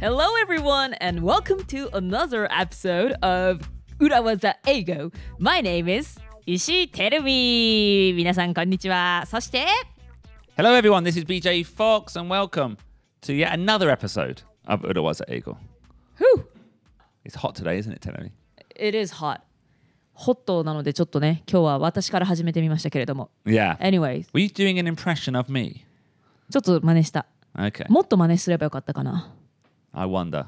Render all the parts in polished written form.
Hello everyone and welcome to another episode of Urawaza Eigo. My name is Ishii Terumi. 皆さんこんにちは。そして Hello everyone, this is BJ Fox and welcome to yet another episode of Urawaza Eigo. Whew, It's hot today, isn't it, Terumi? it is hot. ホットなのでちょっとね、今日は私から始めてみましたけれども。 Yeah. Anyways, Were you doing an impression of me? ちょっと真似した。 Okay. もっと真似すればよかったかな。 I wonder.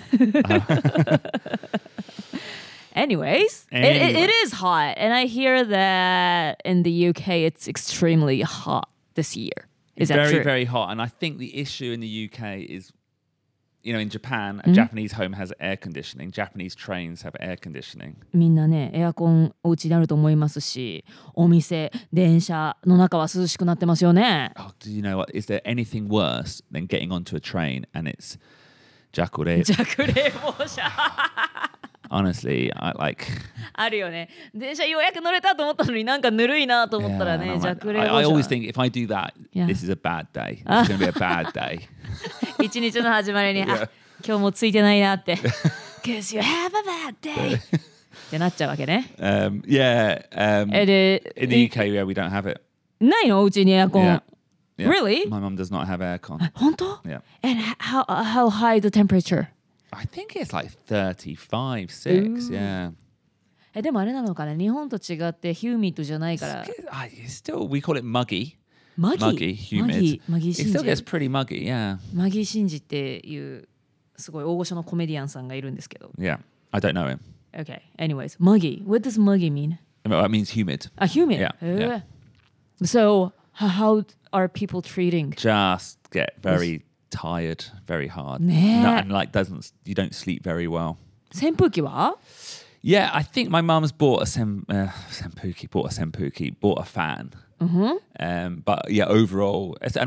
Anyways, Anyway. it is hot, and I hear that in the UK it's extremely hot this year. Is that Very, true? very hot. And I think the issue in the UK is, you know, in Japan, a Japanese home has air conditioning. Japanese trains have air conditioning. みんなね、エアコンお家にあると思いますし、お店、電車の中は涼しくなってますよね。 Oh, do you know what? Is there anything worse than getting onto a train and it's jakure? 弱冷房車 Honestly, I like... あるよね。電車ようやく乗れたと思ったのになんかぬるいなと思ったら Yeah, ね、 and I'm like- 弱冷 I 房 always 車。 think if I do that, Yeah. this is a bad day. It's going to be a bad day. 一日の始まりに、あ、今日もついてないなって。Cause you have a bad day. ってなっちゃうわけね。 Yeah. で、 In the UK, yeah, we don't have it. ないのお家にエアコン。 Yeah. Yeah. Really? My mum does not have aircon. 本当 Yeah. And how high the temperature? I think it's like 35, 6. Yeah. でもあれなのかな日本と違ってヒューミットじゃないから It's still, we call it muggy. マギ Muggy, humid. マギ It シン still ジ gets pretty muggy, yeah. マギシンジっていうすごい大御所のコメディアンさんがいるんですけど Yeah. I don't know him. Okay, anyways, muggy. What does muggy mean? Well, it means humid. Humid. Yeah, yeah. So, how are people treating? Just get very tired, very hard. ねえ And like you don't sleep very well. 扇風機は Yeah, I think my mum's bought a senpuki, bought a fan. But yeah, overall, and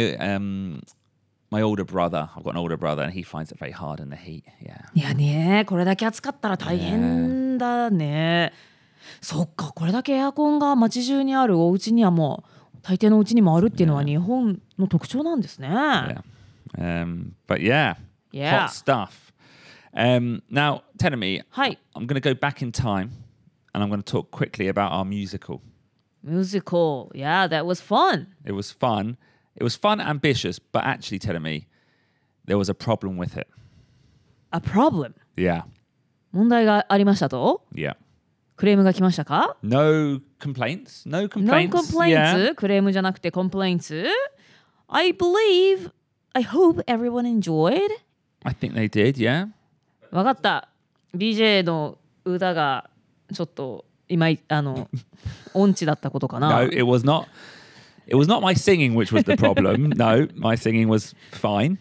my older brother, I've got an older brother, and he finds it very hard in the heat. Yeah. いやねこれだけ暑かったら大変だね。そっか、これだけエアコンが街中にあるお家にはもう大抵のお家にもあるっていうのは日本の特徴なんですね。 Yeah. But yeah, Yeah. hot stuff. Now, Tenemi, はい。 I'm going to go back in time, and I'm going to talk quickly about our musical. Musical. Yeah, that was fun. It was fun. It was fun, ambitious, but actually, Tenemi, there was a problem with it. A problem. Yeah. 問題がありましたと Yeah. クレームが来ましたか No complaints. No No complaints. complaints. Yeah. クレームじゃなくて complaints. I hope everyone enjoyed. I think they did, yeah. わかった。BJ の歌がちょっと音痴だったことかな。 No, it was not. It was not my singing which was the problem. No, my singing was fine.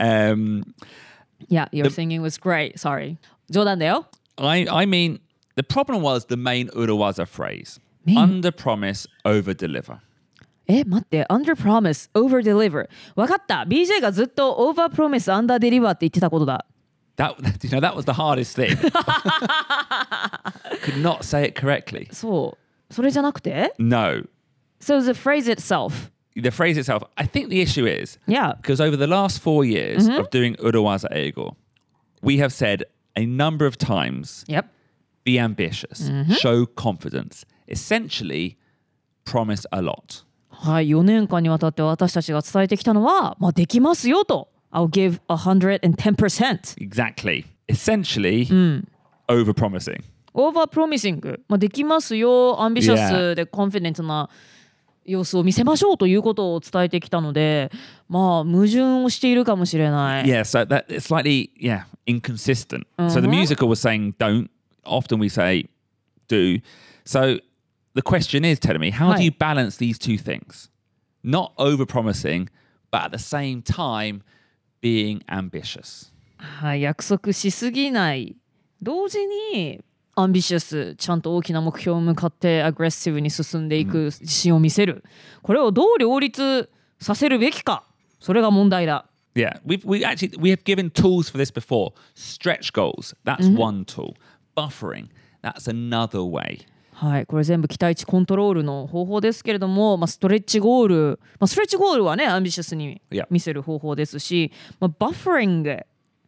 Yeah, your singing was great. Sorry. 冗談だよ。 I mean, the problem was the main Urawaza phrase. Main- Under promise, over deliver. 待って。Under promise, over deliver. わかった。BJ がずっと over promise, under deliver って言ってたことだ。 That was the hardest thing. Could not say it correctly. そう。それじゃなくて No. So the phrase itself. The phrase itself, I think the issue is Yeah. because over the last 4 years of doing Urawaza Eigo, we have said a number of times, Yep. be ambitious, show confidence, essentially promise a lot. はい。4年間にわたって私たちが伝えてきたのは、まあ、できますよと。I'll give 110%. Exactly. Essentially, over promising. Over promising. まあ、できますよ。アンビシャスでコンフィデントな様子を見せましょうということを伝えてきたので、まあ、矛盾をしているかもしれない。 Yeah, so that it's slightly, inconsistent. So the musical was saying don't. Often we say do. So the question is, Telemi, how do you balance these two things? Not over promising, but at the same time being ambitious. はい、約束しすぎない同時にアンビシャスちゃんと大きな目標に向かってアグレッシブに進んでいく自信を見せる、これをどう両立させるべきか、それが問題だ。 Yeah, we have given tools for this before. Stretch goals, that's one tool. Buffering, that's another way. はい、これ全部期待値コントロールの方法ですけれども、ストレッチゴール、ストレッチゴールはねアンビシャスに見せる方法ですし、バッファリング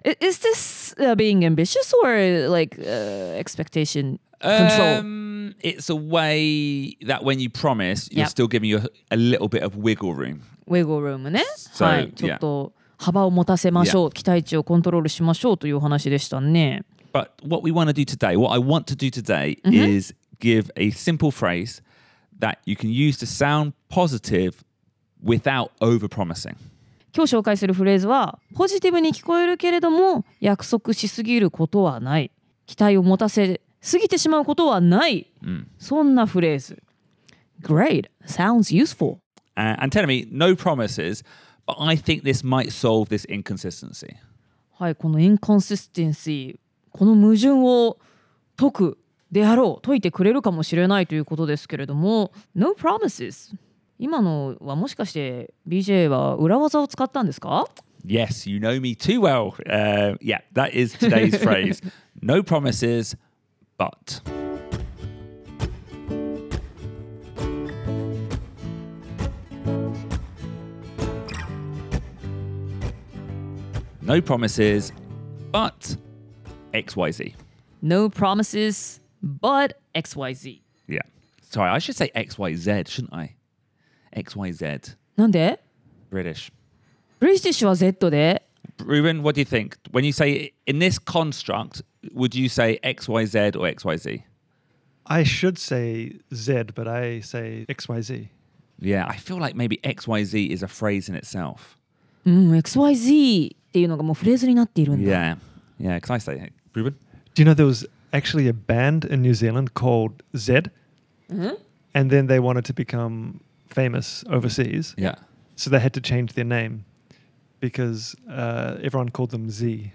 Is this being ambitious or like expectation control? It's a way that when you promise, you're Yep. still giving you a little bit of wiggle room. ウェゴルームね。 So, はい。ちょっと幅を持たせましょう。期待値をコントロールしましょうというお話でしたね。 But what we want to do today, what I want to do today is give a simple phrase that you can use to sound positive without over-promising. 今日紹介するフレーズはポジティブに聞こえるけれども約束しすぎることはない。期待を持たせすぎてしまうことはない。そんなフレーズ。Great. Sounds useful. And telling me, no promises, but I think this might solve this inconsistency. はい、このインコンシステンシー、この矛盾を解くであろう、解いてくれるかもしれないということですけれども、No promises。今のはもしかして BJ は裏技を使ったんですか？ Yes, you know me too well. Yeah, that is today's phrase. No promises, but. No promises, but XYZ. No promises, but XYZ。 Yeah. Sorry, I should say XYZ, shouldn't I? XYZ. なんで？ British. ブリティッシュは Z で、 Ruben, what do you think? When you say in this construct, would you say XYZ or XYZ? I should say Z, but I say XYZ. Yeah, I feel like maybe XYZ is a phrase in itself. XYZ っていうのがもうフレーズになっているんだ。 Yeah. Yeah, can I say it? Ruben? Do you know there was actually a band in New Zealand called Z? And then they wanted to become famous overseas. Yeah. So they had to change their name because everyone called them Z.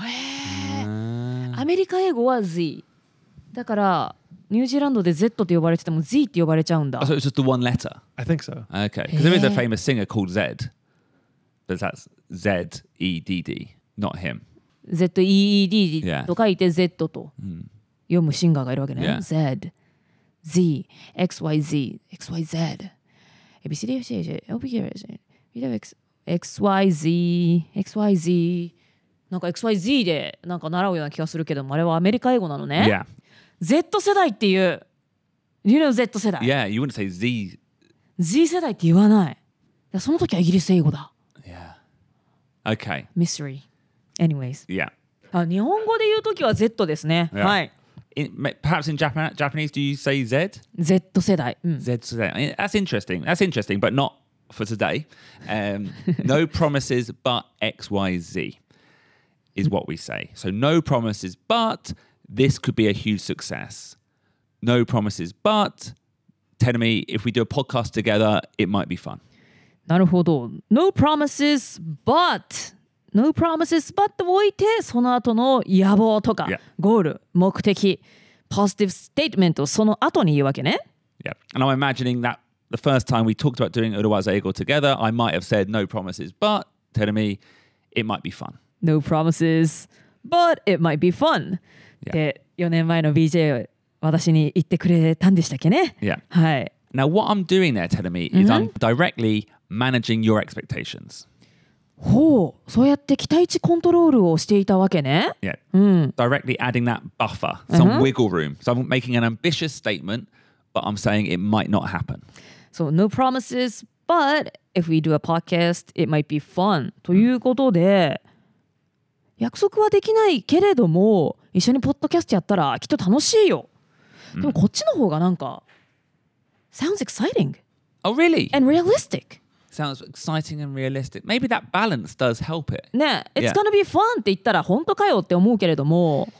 アメリカ英語は Z だからニュージーランドで Z って呼ばれてても Z って呼ばれちゃうんだ。 Oh, so it's just the one letter? I think so. Okay. Because there is a Yeah. famous singer called Zed. But that's Z-E-D-D, not him. ZEED Yeah. と書いて Z と読むシンガーがいるわけね。 Yeah. Z, Z, XYZ, XYZ. XYZ, XYZ. なんか XYZ でなんか習うような気がするけども、あれはアメリカ英語なのね。 Yeah. Z 世代っていう。You know Z 世代。 Yeah, you wouldn't say Z. Z 世代って言わない。その時はイギリス英語だ。 Yeah. Okay. Mystery. Anyways. Yeah. 日本語で言う時は Z ですね。 Yeah. はい。 Perhaps in Japanese, do you say Z? Z 世代。 Z today. That's interesting. That's interesting, but not for today. No promises, but XYZ is what we say. So no promises, but this could be a huge success. No promises, but telling me if we do a podcast together, it might be fun. なるほど。No promises, but No promises, but と置いて、その後の野望とか、 Yeah. ゴール、目的、positive statement をその後に言うわけね。 Yeah. And I'm imagining that the first time we talked about doing Uruwaza Ego together, I might have said no promises, but telling me it might be fun. No promises, but it might be fun. Yeah. で、4年前の BJ 私に言ってくれたんでしたっけね。 Yeah. はい。 Now, what I'm doing there, telling me, is I'm directly managing your expectations. ほう、そうやって期待値コントロールをしていたわけね。 Yeah. Directly adding that buffer, some wiggle room. So I'm making an ambitious statement, but I'm saying it might not happen. So, no promises, but if we do a podcast, it might be fun. ということで、約束はできないけれども、一緒にポッドキャストやったらきっと楽しいよ。でもこっちの方がなんか、sounds exciting Oh, really? and realistic. Sounds exciting and realistic. Maybe that balance does help it. ね、It's Yeah. gonna be fun って言ったら本当かよって思うけれども、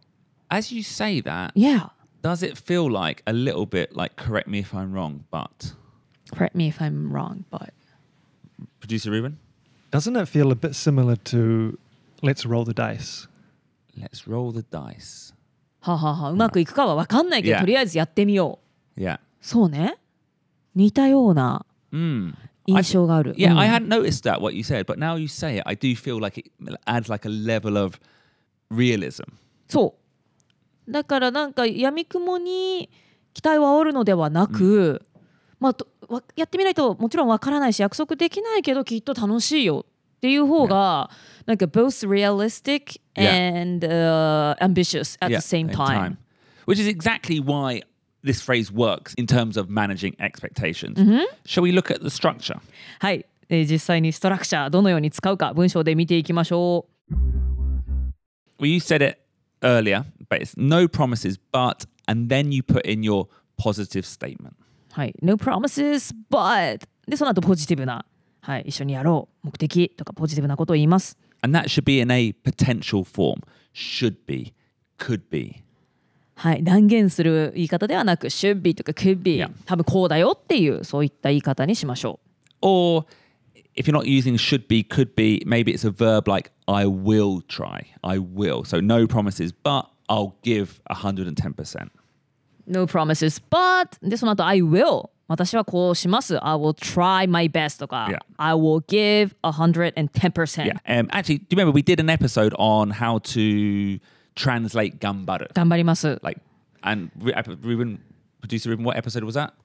As you say that, Yeah, does it feel like a little bit like, correct me if I'm wrong, but correct me if I'm wrong, but producer Ruben, Doesn't it feel a bit similar to let's roll the dice? let's roll the dice. はははうまくいくかは分かんないけど、 Yeah. とりあえずやってみよう。 Yeah. そうね。似たような I 印象がある。 Yeah, うん I hadn't noticed that, what you said, but now you say it, I do feel like it adds like a level of realism. そうだからなんか闇雲に期待を煽るのではなく、まあやってみないともちろんわからないし約束できないけどきっと楽しいよっていう方が、なんか both realistic and ambitious at the same time. Which is exactly why this phrase works in terms of managing expectations. Shall we look at the structure? はい、実際にストラクチャーどのように使うか文章で見ていきましょう。 Well, you said it earlier, but it's no promises, but, and then you put in your positive statement. はい、No promises, but でその後ポジティブな、はい、一緒にやろう目的とかポジティブなことを言います。 And that should be in a potential form. Should be, could be. はい、断言する言い方ではなく should be とか could be、多分こうだよっていうそういった言い方にしましょう。Or if you're not using should be, could be, maybe it's a verb like I will try. I will. So no promises, but I'll give 110%. No promises, but でその後 I will 私はこうします I will try my best とか、I will give 110%. Actually, do you remember we did an episode on how to translate 頑張る? 頑張ります。 Like, and Ruben, producer Ruben, what episode was that?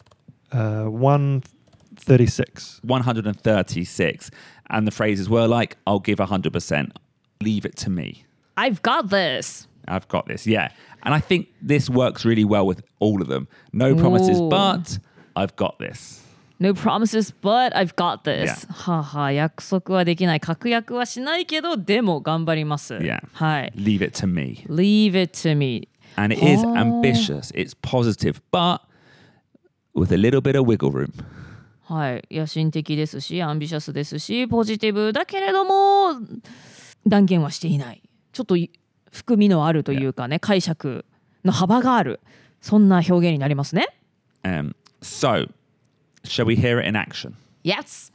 136. 136. And the phrases were like, I'll give 100%. Leave it to me. I've got this. I've got this, yeah. And I think this works really well with all of them. No promises, but I've got this. No promises, but I've got this. はあはあ、約束はできない。確約はしないけど、でも頑張ります。 Yeah. はい。 Leave it to me. Leave it to me. And it is ambitious. It's positive, but with a little bit of wiggle room. はい。野心的ですし、アンビシャスですし、ポジティブだけれども、断言はしていない。ちょっと含みのあるというかね、解釈の幅がある。そんな表現になりますね。 So, shall we hear it in action? Yes.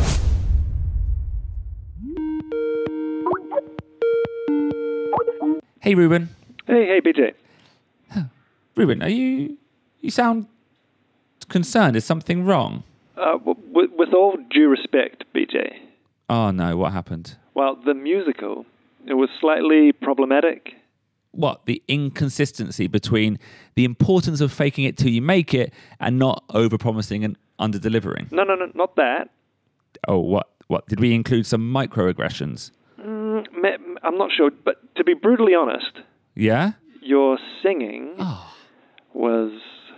Hey, Ruben. Hey, BJ. Ruben, you sound concerned. Is something wrong? With all due respect, BJ. Oh, no. What happened? Well, the musical, it was slightly problematic. What? The inconsistency between the importance of faking it till you make it and not over-promising and under-delivering? No, not that. Oh, what? Did we include some microaggressions? I'm not sure, but to be brutally honest... Yeah? Your singing was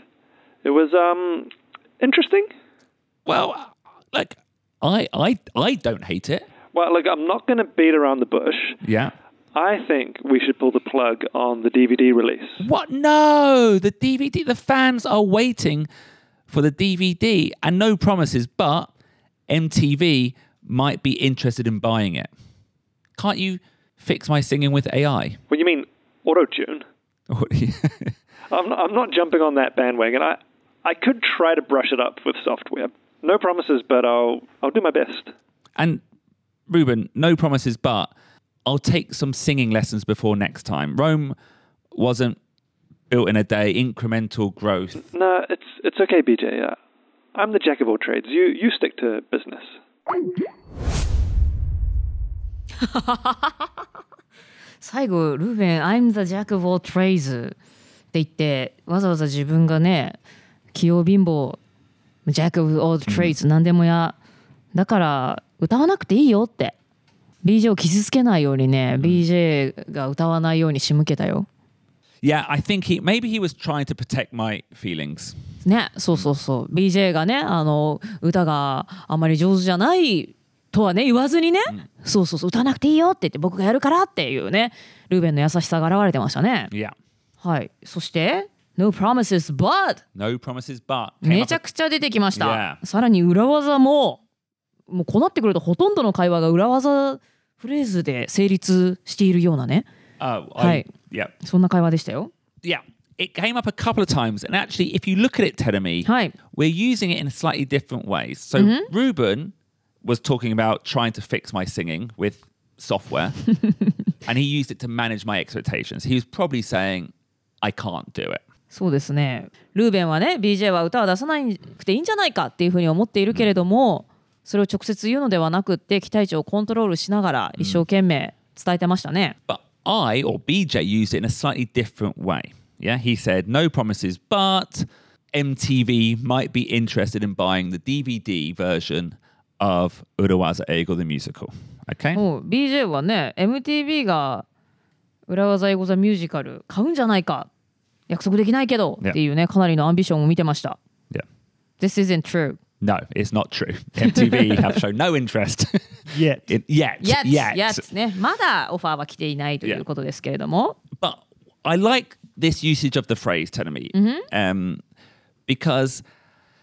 interesting. Well, like, I don't hate it. Well, look, I'm not going to beat around the bush. Yeah. I think we should pull the plug on the DVD release. What? No, the DVD. The fans are waiting for the DVD, and no promises, but MTV might be interested in buying it. Can't you fix my singing with AI? What you mean, auto-tune? I'm not jumping on that bandwagon. I could try to brush it up with software. No promises, but I'll do my best. And Ruben, no promises, but I'll take some singing lessons before next time. Rome wasn't built in a day. Incremental growth. No, it's okay, BJ. I'm the jack of all trades. You stick to business. 最後ルーベン I'm the jack of all trades って言ってわざわざ自分がね器用貧乏 jack of all trades、何でもやだから歌わなくていいよって BJ を傷つけないようにね、BJ が歌わないように仕向けたよ。 Yeah, I think maybe he was trying to protect my feelings. ね、そう BJ がね歌があまり上手じゃないとはね言わずにね、そう歌わなくていいよって言って僕がやるからっていうねルーベンの優しさが現れてましたね。 Yeah. はい。そして No promises but No promises but めちゃくちゃ出てきました。 Yeah. さらに裏技もうこうなってくるとほとんどの会話が裏技フレーズで成立しているようなね。はい。 Yeah. そんな会話でしたよ。 Yeah. It came up a couple of times, and actually, if you look at it, Terumi, はい。 we're using it in slightly different ways. So Ruben was talking about trying to fix my singing with software, and he used it to manage my expectations. He was probably saying, I can't do it. そうですね。ルーベンはね BJ は歌は出さなくていいんじゃないかっていうふうに思っているけれども、それを直接言うのではなくって期待値をコントロールしながら一生懸命伝えてましたね。 But I, or BJ, used it in a slightly different way. Yeah, he said, no promises, but MTV might be interested in buying the DVD version of Urawaza Eigo the musical. Okay? BJ はね MTV が裏技英語ザミュージカル買うんじゃないか約束できないけどっていうねかなりのアンビションを見てました。 Yeah. This isn't true. No, it's not true. MTV have shown no interest Yet. yet. ね、まだオファーは来ていないということですけれども。 But I like this usage of the phrase, Tenemi, because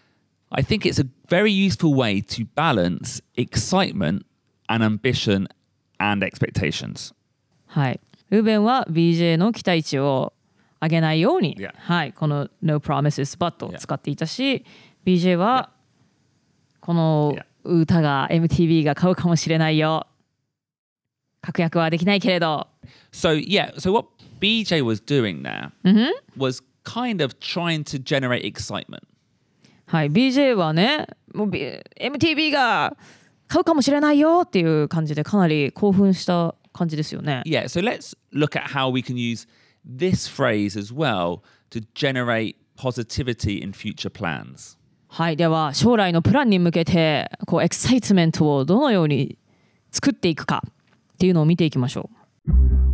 I think it's a very useful way to balance excitement and ambition and expectations. はい。ルーベンは BJ の期待値を上げないように、 Yeah. はい、この No Promises But を使っていたし、BJ はこの歌が MTV が買うかもしれないよ。確約はできないけれど。 So what BJ was doing there was kind of trying to generate excitement. はい、BJ はね、もう、MTV が買うかもしれないよっていう感じでかなり興奮した感じですよね。 Yeah, so let's look at how we can use this phrase as well to generate positivity in future plans. はい、では将来のプランに向けてこうエキサイトメントをどのように作っていくかっていうのを見ていきましょう。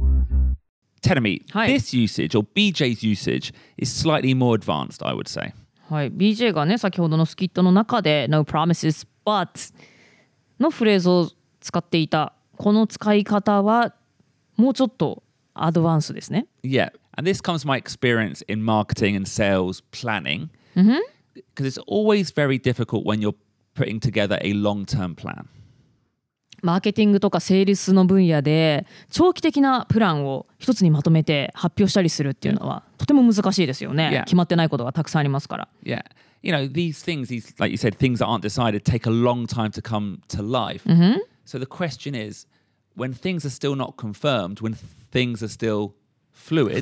Tenemi, はい。 this usage or BJ's usage is slightly more advanced, I would say. はい、BJ がね先ほどのスキットの中で No promises but のフレーズを使っていたこの使い方はもうちょっとアドバンスですね。 Yeah, and this comes from my experience in marketing and sales planning. Because it's always very difficult when you're putting together a long-term plan. マーケティングとかセールスの分野で長期的なプランを一つにまとめて発表したりするっていうのはとても難しいですよね。 Yeah. 決まってないことがたくさんありますから。 Yeah, you know, these things, like you said, things that aren't decided take a long time to come to life. So the question is, when things are still not confirmed, when things are still fluid,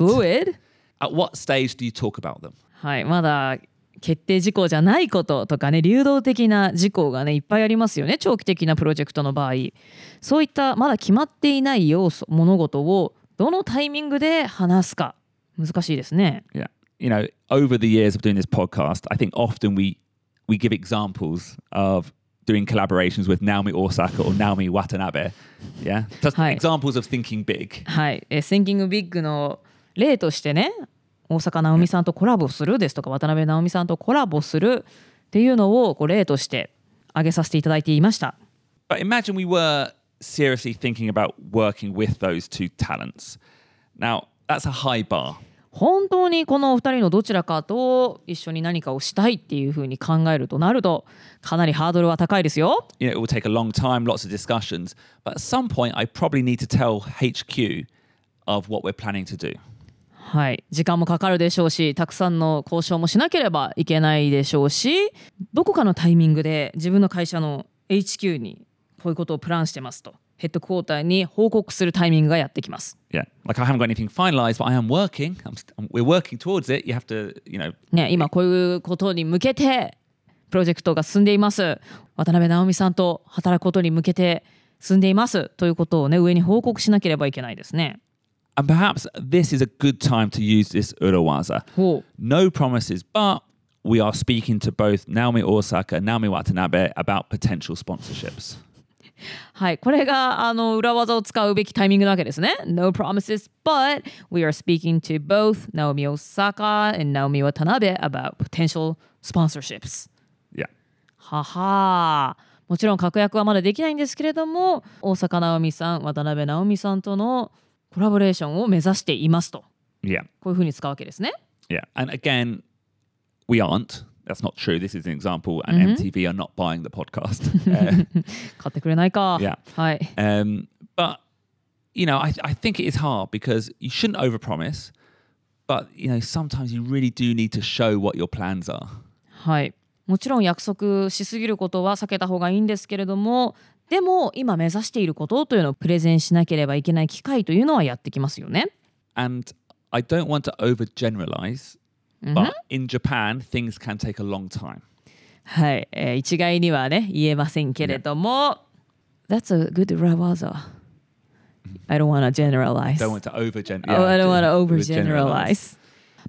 at what stage do you talk about them? はい、まだ決定事項じゃないこととかね流動的な事項がねいっぱいありますよね長期的なプロジェクトの場合。そういったまだ決まっていない要素物事をどのタイミングで話すか難しいですね。 Yeah, you know, over the years of doing this podcast, I think often we give examples of doing collaborations with Naomi Osaka or Naomi Watanabe. Yeah, just examples of thinking big. はい、Thinking Big の例としてね大坂なおみさんとコラボするですとか渡辺直美さんとコラボするっていうのをこう例として挙げさせていただいていました。 But imagine we were seriously thinking about working with those two talents. Now, that's a high bar. 本当にこのお二人のどちらかと一緒に何かをしたいっていうふうに考えるとなるとかなりハードルは高いですよ。 You know, it will take a long time, lots of discussions. But at some point, I probably need to tell HQ of what we're planning to do. はい、時間もかかるでしょうしたくさんの交渉もしなければいけないでしょうしどこかのタイミングで自分の会社の HQ にこういうことをプランしてますとヘッドクォーターに報告するタイミングがやってきます。 Yeah, like I haven't got anything finalized, but I am working. We're working towards it. You have to, you know. ね、今こういうことに向けてプロジェクトが進んでいます。渡辺直美さんと働くことに向けて進んでいますということをね上に報告しなければいけないですね。 And perhaps this is a good time to use this urawaza. No promises, but we are speaking to both Naomi Osaka and Naomi Watanabe about potential sponsorships. はい、これが裏技を使うべきタイミングなわけですね。No promises, but we are speaking to both Naomi Osaka and Naomi Watanabe about potential sponsorships. Yeah. ははもちろん確約はまだできないんですけれども大坂なおみさん、渡辺直美さんとのコラボレーションを目指していますと。 Yeah. こういうふうに使うわけですね。 Yeah. And again, we aren't. That's not true. This is an example, and MTV are not buying the podcast. 買ってくれないか。 Yeah. はい。 But, you know, I think it is hard because you shouldn't overpromise, but, you know, sometimes you really do need to show what your plans are. はい。もちろん約束しすぎることは避けた方がいいんですけれども、でも今目指していることというのをプレゼンしなければいけない機会というのはやってきますよね。 And I don't want to overgeneralize, but in Japan, things can take a long time. はい、一概にはね言えませんけれども、That's a good urawaza. I don't want to generalize. Don't want to overgeneralize. I don't want to overgeneralize.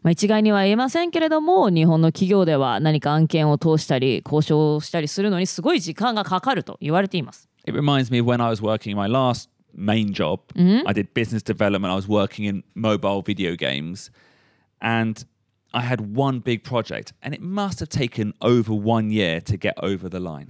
一概には言えませんけれども、日本の企業では何か案件を通したり交渉したりするのにすごい時間がかかると言われています。 It reminds me of when I was working my last main job. I did business development. I was working in mobile video games, and I had one big project, and it must have taken over 1 year to get over the line.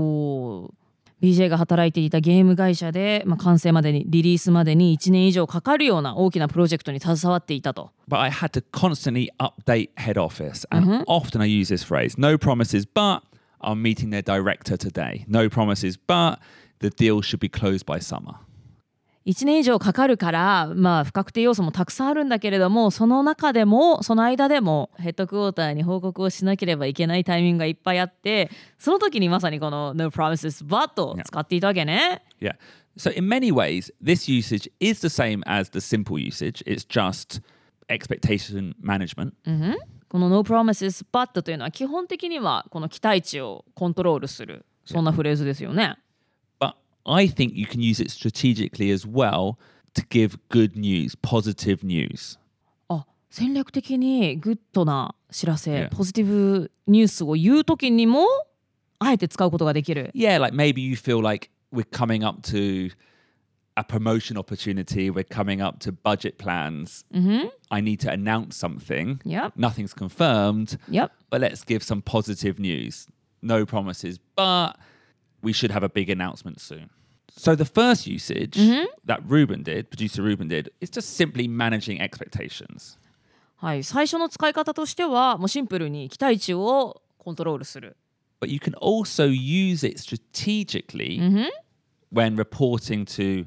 BJ が働いていたゲーム会社で、完成までにリリースまでに1年以上かかるような大きなプロジェクトに携わっていたと。 But I had to constantly update head office, and often I use this phrase: "No promises, but I'm meeting their director today. No promises, but the deal should be closed by summer." 1年以上かかるから、不確定要素もたくさんあるんだけれども、その中でもその間でもヘッドクォーターに報告をしなければいけないタイミングがいっぱいあって、その時にまさにこの No promises but を使っていたわけね。 Yeah. So in many ways, this usage is the same as the simple usage. It's just expectation management. この No promises but というのは基本的にはこの期待値をコントロールする、そんなフレーズですよね。 I think you can use it strategically as well to give good news, positive news. 戦略的にグッドな知らせ、ポジティブニュースを言うときにもあえて使うことができる。 Yeah, like maybe you feel like we're coming up to a promotion opportunity, we're coming up to budget plans. I need to announce something. Nothing's confirmed. But let's give some positive news. No promises, but we should have a big announcement soon. So the first usage that producer Ruben did, is just simply managing expectations. はい、最初の使い方としてはもうシンプルに期待値をコントロールする。 But you can also use it strategically when reporting to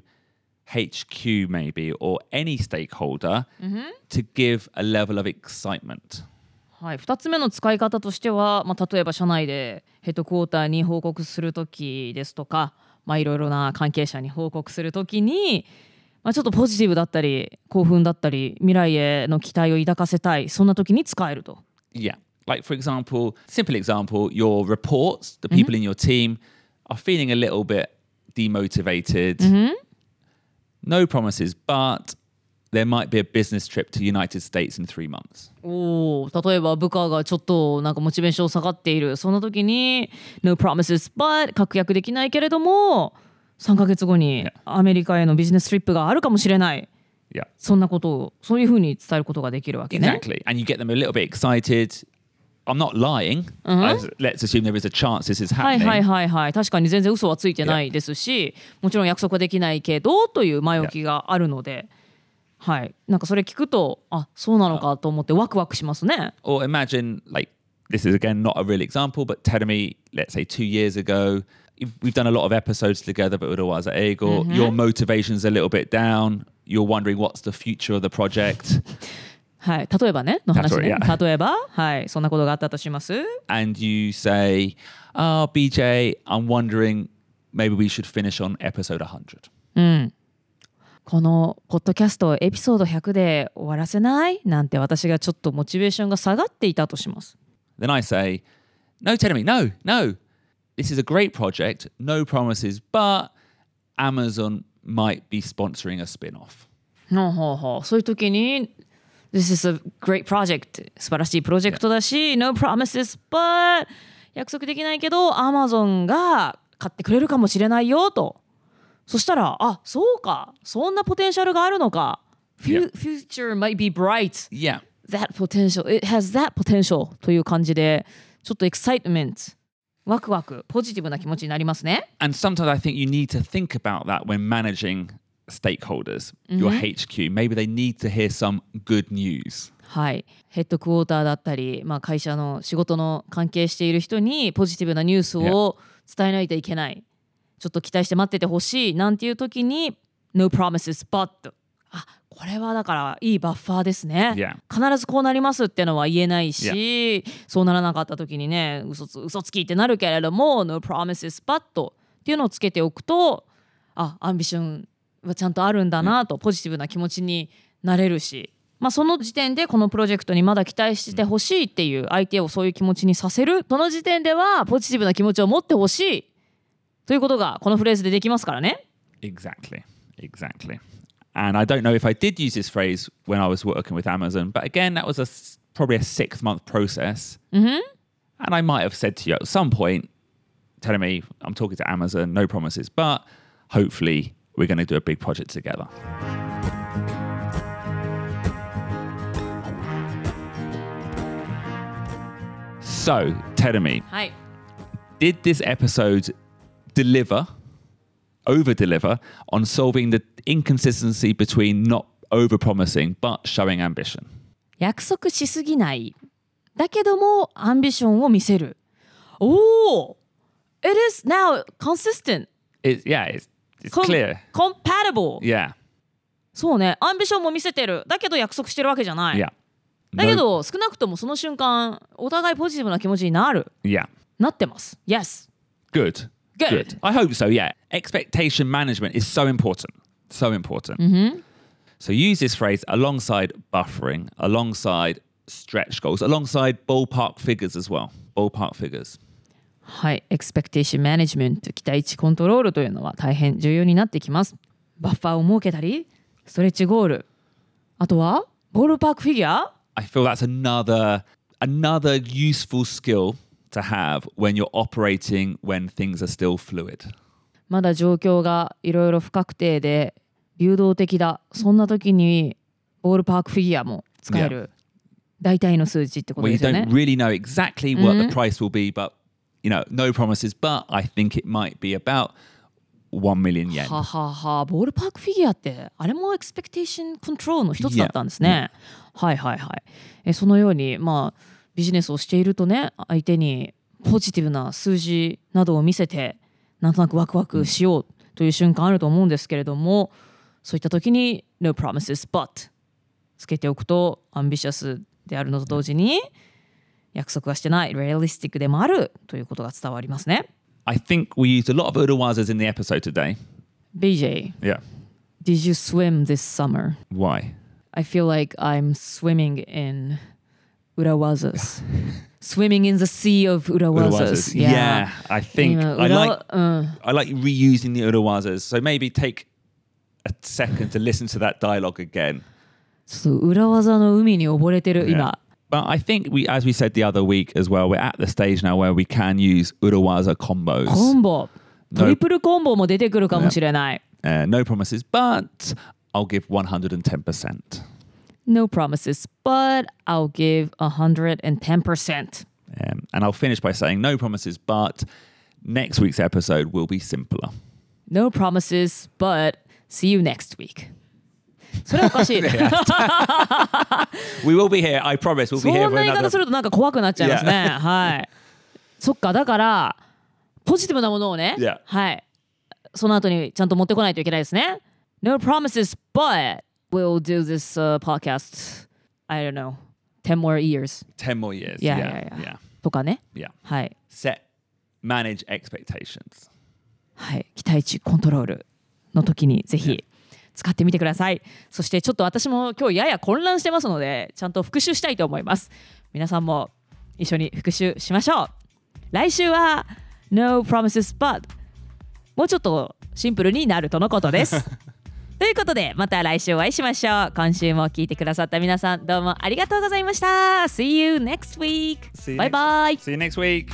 HQ maybe or any stakeholder to give a level of excitement. はい、2つ目の使い方としては、例えば社内でヘッドクォーターに報告するときですとか、いろいろな関係者に報告するときに、ちょっとポジティブだったり興奮だったり未来への期待を抱かせたい、そんなときに使えると。 Yeah, like for example, simple example, your reports, the people in your team are feeling a little bit demotivated. No promises, but there might be a business trip to United States in 3 months. 例えば部下がちょっとなんかモチベーション下がっている、その時に No promises but 確約できないけれども3ヶ月後にアメリカへのビジネストリップがあるかもしれない、そんなことをそういうふうに伝えることができるわけね。 Exactly, and you get them a little bit excited. I'm not lying. Let's assume there is a chance this is happening. はい、確かに全然嘘はついてないですし、もちろん約束はできないけどという前置きがあるので、はい、なんかそれ聞くと、そうなのかと思ってワクワクしますね。 Or imagine, like, this is again not a real example, but tell me, let's say 2 years ago, we've done a lot of episodes together, but was at Ego. Your motivation's a little bit down. You're wondering what's the future of the project. はい、例えばねの話ね。例えば、はい、そんなことがあったとします。 And you say, BJ, I'm wondering maybe we should finish on episode 100. このポッドキャストをエピソード100で終わらせないなんて私がちょっとモチベーションが下がっていたとします。 Then I say, no, Terumi, no. This is a great project, no promises, but Amazon might be sponsoring a spin-off. そういう時に This is a great project 素晴らしいプロジェクトだし、No promises, but 約束できないけど Amazon が買ってくれるかもしれないよと。そしたら、そうか、そんなポテンシャルがあるのか。Future might be bright. Yeah. That potential, it has that potential という感じで、ちょっと excitement、ワクワク、ポジティブな気持ちになりますね。 And sometimes I think you need to think about that when managing stakeholders, your HQ. Maybe they need to hear some good news. はい、ヘッドクォーターだったり、会社の仕事の関係している人にポジティブなニュースを伝えないといけない。ちょっと期待して待っててほしいなんていう時に No promises but これはだからいいバッファーですね。必ずこうなりますってのは言えないし、そうならなかった時にね嘘つきってなるけれども No promises but っていうのをつけておくとアンビションはちゃんとあるんだなとポジティブな気持ちになれるし、その時点でこのプロジェクトにまだ期待してほしいっていう相手をそういう気持ちにさせる、その時点ではポジティブな気持ちを持ってほしいということがこのフレーズでできますからね。 Exactly. And I don't know if I did use this phrase when I was working with Amazon, but again, that was probably a 6-month process. Mm-hmm. And I might have said to you at some point, telling me, I'm talking to Amazon, no promises, but hopefully we're going to do a big project together. So, tell me, はい。 did this episode over-deliver on solving the inconsistency between not over-promising but showing ambition? 約束しすぎない。だけどもアンビションを見せる。おお It is now consistent. It's clear. Compatible. Yeah. そうね。アンビションも見せてる。だけど約束してるわけじゃない。 Yeah. だけど少なくともその瞬間お互いポジティブな気持ちになる。 Yeah. なってます。Yes. Good. Good. I hope so, yeah. Expectation management is so important. So important. Mm-hmm. So use this phrase alongside buffering, alongside stretch goals, alongside ballpark figures as well. Ballpark figures. はい。Expectation management 期待値コントロールというのは大変重要になってきます。バッファーを設けたり、ストレッチゴール。あとはボールパークフィギュア。 I feel that's another useful skill to have when you're operating when things are still fluid. まだ状況がいろいろ不確定で流動的だ。そんな時にボールパークフィギュアも使える。大体の数値ってことで Well, you すよね。 don't really know exactly what the price will be, but no promises. But I think it might be about 1 million yen. はははボールパークフィギュアってあれもエクスペクテーションコントロールの一つだったんですね。はいはいはい。そのようにビジネスをしているとね、相手にポジティブな数字などを見せてなんとなくワクワクしようという瞬間あると思うんですけれども、そういった時に No promises but つけておくとアンビシャスであるのと同時に約束はしてない、realistic でもあるということが伝わりますね。 I think we used a lot of urawazas in the episode today. BJ, Yeah. did you swim this summer? Why? I feel like I'm swimming in urawazas. Swimming in the sea of urawazas. Yeah, I think 今 I like reusing the urawazas. So maybe take a second to listen to that dialogue again. ちょっと裏技の海に溺れてる今。 But I think as we said the other week as well, we're at the stage now where we can use urawaza combos. コンボ、トリプルコンボも出てくるかもしれない。 No promises, but I'll give 110%. No promises, but I'll give 110%. And I'll finish by saying no promises, but next week's episode will be simpler. No promises, but see you next week. それはおかしい。 We will be here, I promise. We'll be そ here ん for な言い方 another. するとなんか怖くなっちゃいますね。はい。そっか、だからポジティブなものをね、 Yeah. はい。その後にちゃんと持ってこないといけないですね。No promises, but we'll do this podcast, I don't know, 10 more years. 10 more years. Yeah. とかね。 Yeah. はい。 Manage expectations. はい。期待値コントロールの時にぜひ使ってみてください。そしてちょっと私も今日やや混乱してますので、ちゃんと復習したいと思います。皆さんも一緒に復習しましょう。来週は No promises but もうちょっとシンプルになるとのことです。ということでまた来週お会いしましょう。今週も聞いてくださった皆さんどうもありがとうございました。See you next week. Bye bye. See you next week.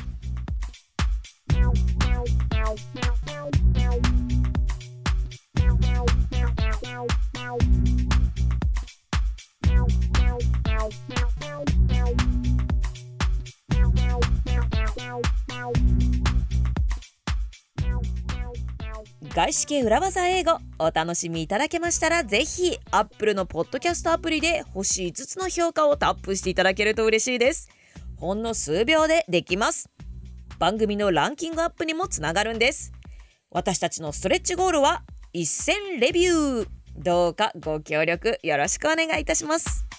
外資系裏技英語お楽しみいただけましたらぜひ Apple のポッドキャストアプリで星5つの評価をタップしていただけると嬉しいです。ほんの数秒でできます。番組のランキングアップにもつながるんです。私たちのストレッチゴールは1000レビュー。どうかご協力よろしくお願いいたします。